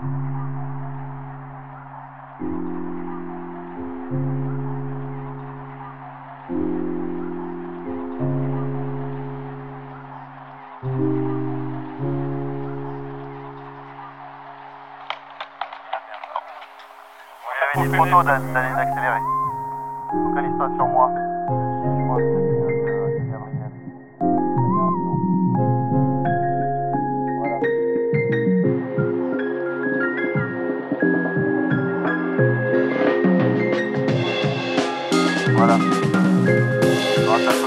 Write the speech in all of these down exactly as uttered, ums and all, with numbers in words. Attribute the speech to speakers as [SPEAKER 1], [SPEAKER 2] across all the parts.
[SPEAKER 1] Vous avez dit trop tôt d'aller d'accélérer. Focalise-toi sur moi. Suis-moi, c'est Gabriel. Voilà. Voilà. Grâce à toi.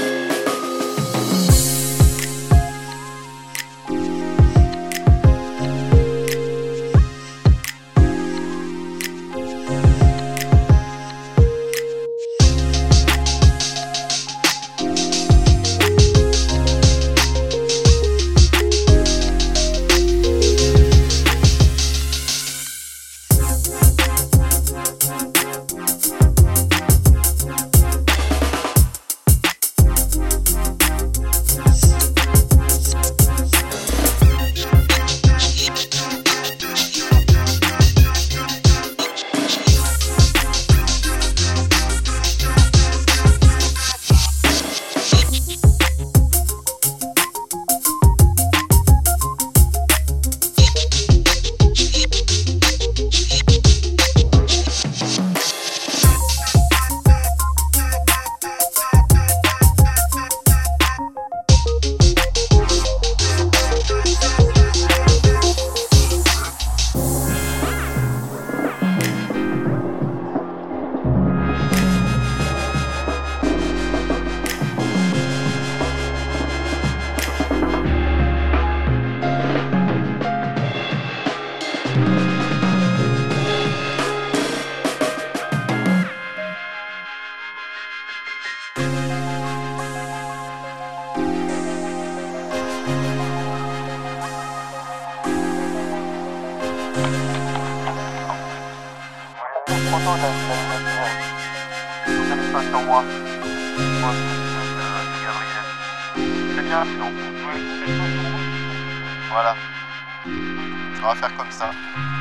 [SPEAKER 1] Trop tôt d'aller d'accélérer. Focalise-toi sur moi. Moi, c'est Gabriel. C'est bien, sinon. Voilà. On va faire comme ça.